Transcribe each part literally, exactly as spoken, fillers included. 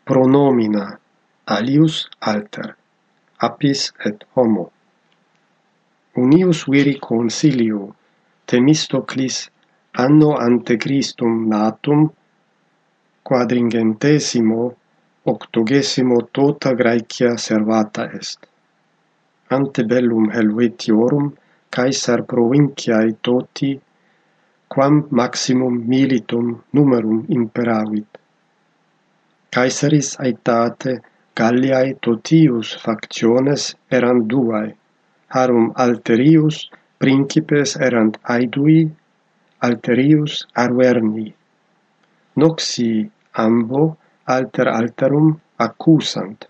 Pronomina alius alter, apis et homo. Unius viri consilio Themistoclis anno ante Christum natum quadringentesimo octogesimo tota Graecia servata est. Ante bellum Helvetiorum Caesar provinciae toti quam maximum militum numerum imperavit. Caesaris aetate Galliae totius factiones erant duae, harum alterius principes erant aedui, alterius Arverni. Noxi ambo alter alterum accusant.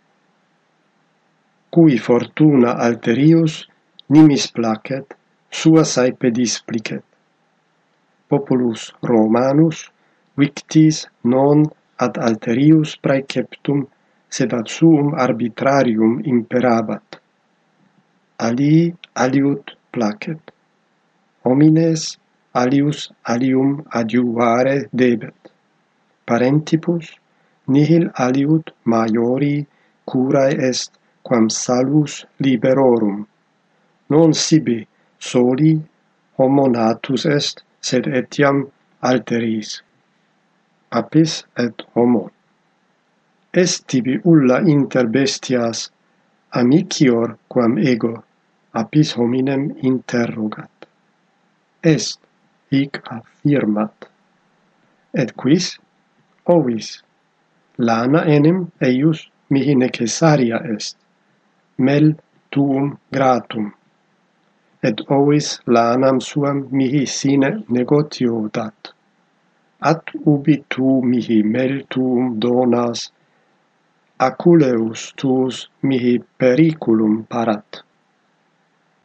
Cui fortuna alterius nimis placet, sua saepe displicet. Populus Romanus victis non ad alterius praeceptum, sed ad suum arbitrarium imperabat. Alii aliud placet. Homines alius alium adiuvare debet. Parentibus nihil aliud maiori curae est quam salus liberorum. Non sibi soli homo natus est, sed etiam alteris. Apis et homo. Est tibi ulla inter bestias amicior quam ego? Apis hominem interrogat. Est, hic affirmat. Et quis? Ovis. Lana enim eius mihi necessaria est. Mel tuum gratum. Et ovis lanam suam mihi sine negotio dat. At ubi tu mihi mel tuum donas, aculeus tuus mihi periculum parat.